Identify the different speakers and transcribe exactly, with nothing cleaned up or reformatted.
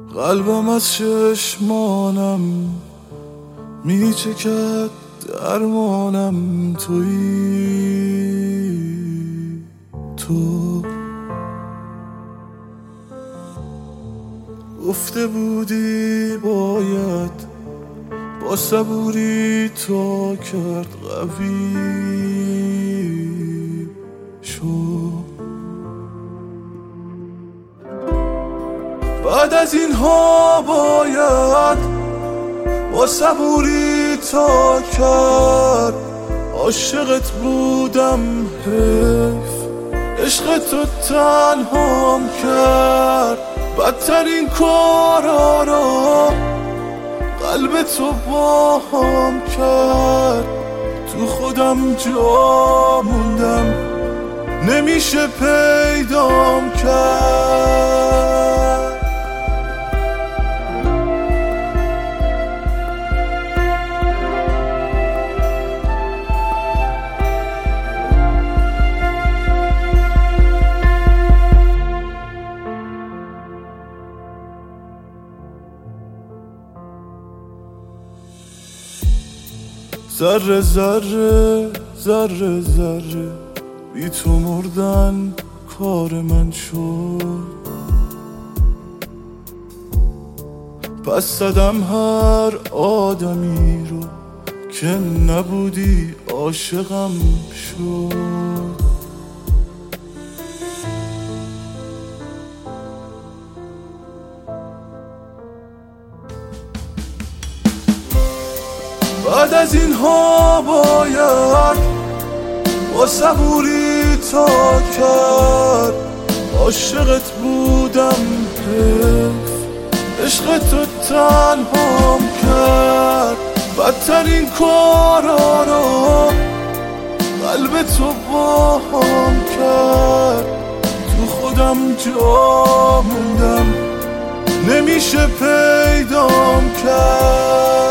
Speaker 1: قلبم از چشمانم میچکد، درمانم تویی تو. گفته بودی باید با صبوری تا کرد قوی شو. بعد از اینها باید با صبوری تا کرد. عاشقت بودم حیف، عشق تو تنهام کرد. بدترین کارا را قلب تو باهام کرد. تو خودم جا موندم، نمیشه پیدام کرد. ذره ذره ذره ذره بی تو مردن کار من شد. پس زدم هر آدمی رو که نبودی عاشقم شد. بعد از اینها باید با صبوری تا کرد. عاشقت بودم حیف، عشق تو تنهام کرد. بدترین کارا را قلب تو باهام کرد. تو خودم جا موندم، نمیشه پیدام کرد.